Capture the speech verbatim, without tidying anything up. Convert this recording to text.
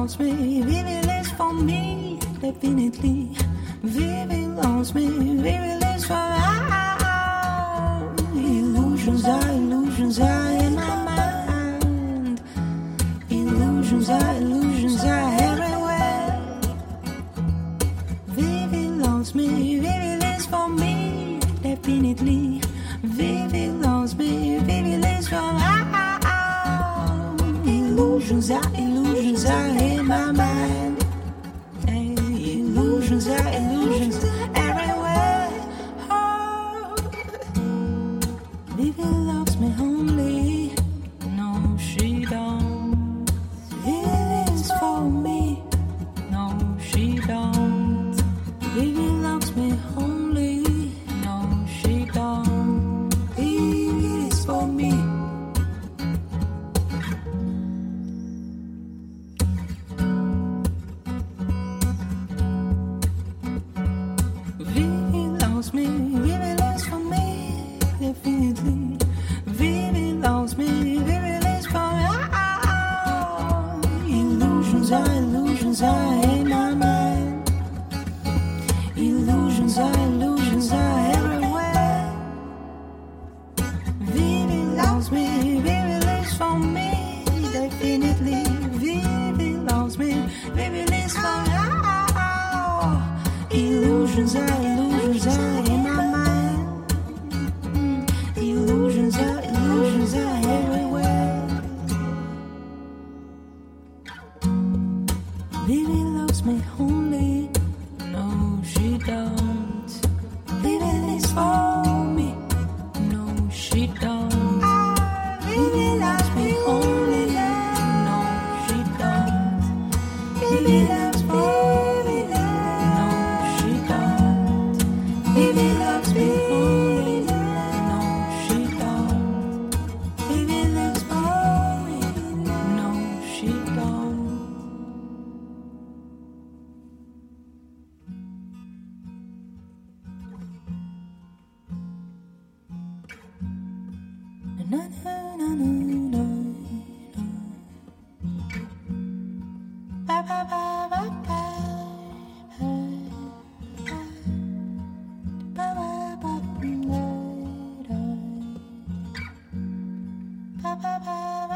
loves me, Vivi lives for me, definitely. Vivi loves me, Vivi lives for me. Illusions are, illusions are in my mind. Illusions are, illusions are everywhere. Vivi loves me, Vivi lives for me, definitely. Vivi loves me, Vivi lives for me. Illusions are, illusions are in my mind. Hey, illusions are, illusions everywhere. Oh. Vivi loves me only. No, she don't. Vivi lives for me. No, she don't. Vivi loves me only. No, she don't. Vivi lives for me. Vivi loves me, Vivi lives for me, definitely. Vivi loves me, Vivi lives for me. Illusions are, illusions are in my mind. Illusions are, illusions are everywhere. Vivi loves me, Vivi lives for me, definitely. Vivi loves me, Vivi lives for me. Illusions are, illusions are in my mind. Mm. Illusions are, illusions are everywhere. Vivi loves me only. No, she don't. Vivi lives for me. No, she don't. Vivi loves me only. No, she don't. Vivi loves me. No, she don't. Vivi loves me only. No, she don't. Vivi lives for me. No, she don't. Na, na, na, na, na, na. Ba, ba, ba, ba, ba. Ba, ba, ba, da, da. Ba, ba, ba, ba.